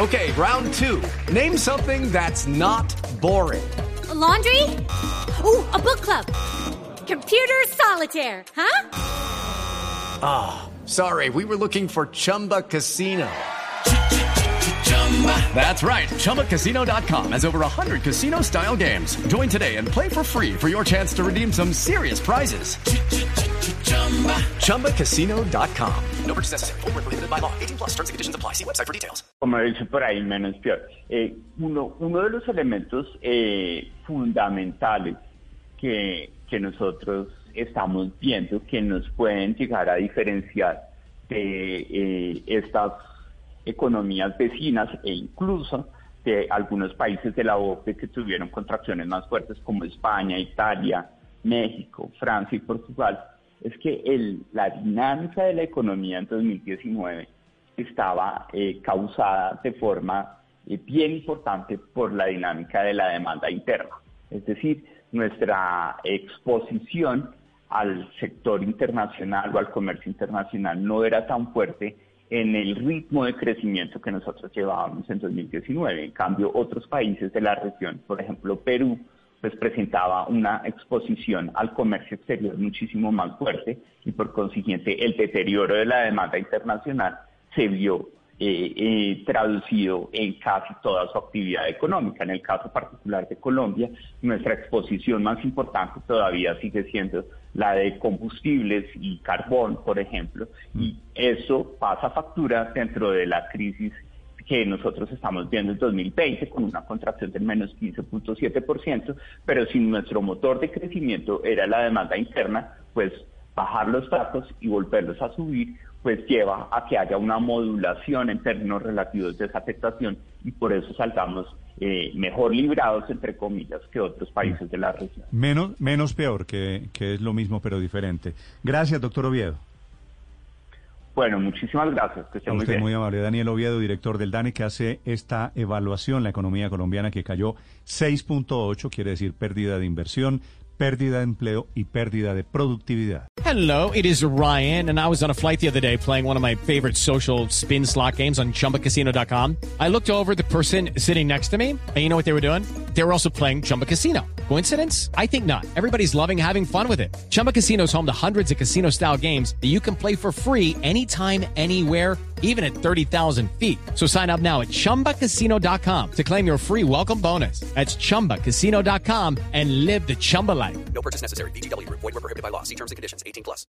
Okay, round two. Name something that's not boring. A laundry? Ooh, a book club. Computer solitaire, huh? Ah, sorry, we were looking for Chumba Casino. That's right. ChumbaCasino.com has over 100 casino-style games. Join today and play for free for your chance to redeem some serious prizes. ChumbaCasino.com. No purchase necessary. Void where prohibited by law. 18 plus. Terms and conditions apply. See website for details. Como he dicho por ahí, menos peor. Uno de los elementos fundamentales que nosotros estamos viendo que nos pueden llegar a diferenciar de estas economías vecinas e incluso de algunos países de la OCDE que tuvieron contracciones más fuertes como España, Italia, México, Francia y Portugal, es que la dinámica de la economía en 2019 estaba causada de forma bien importante por la dinámica de la demanda interna. Es decir, nuestra exposición al sector internacional o al comercio internacional no era tan fuerte en el ritmo de crecimiento que nosotros llevábamos en 2019. En cambio, otros países de la región, por ejemplo Perú, pues presentaba una exposición al comercio exterior muchísimo más fuerte y por consiguiente el deterioro de la demanda internacional se vio traducido en casi toda su actividad económica. En el caso particular de Colombia, nuestra exposición más importante todavía sigue siendo la de combustibles y carbón, por ejemplo, y eso pasa factura dentro de la crisis que nosotros estamos viendo en 2020 con una contracción del menos 15.7%, pero si nuestro motor de crecimiento era la demanda interna, pues bajar los datos y volverlos a subir, pues lleva a que haya una modulación en términos relativos de esa afectación y por eso salgamos mejor librados, entre comillas, que otros países de la región. Menos peor, que es lo mismo pero diferente. Gracias, doctor Oviedo. Bueno, muchísimas gracias. Que esté muy bien. Muy amable. Daniel Oviedo, director del DANE, que hace esta evaluación, la economía colombiana que cayó 6.8, quiere decir pérdida de inversión, pérdida de empleo y pérdida de productividad. Hello, it is Ryan, and I was on a flight the other day playing one of my favorite social spin slot games on ChumbaCasino.com. I looked over at the person sitting next to me, and you know what they were doing? They were also playing Chumba Casino. Coincidence? I think not. Everybody's loving having fun with it. Chumba Casino is home to hundreds of casino-style games that you can play for free anytime, anywhere, even at 30,000 feet. So sign up now at ChumbaCasino.com to claim your free welcome bonus. That's ChumbaCasino.com and live the Chumba life. No purchase necessary. VGW. Void where prohibited by law. See terms and conditions. 18 plus.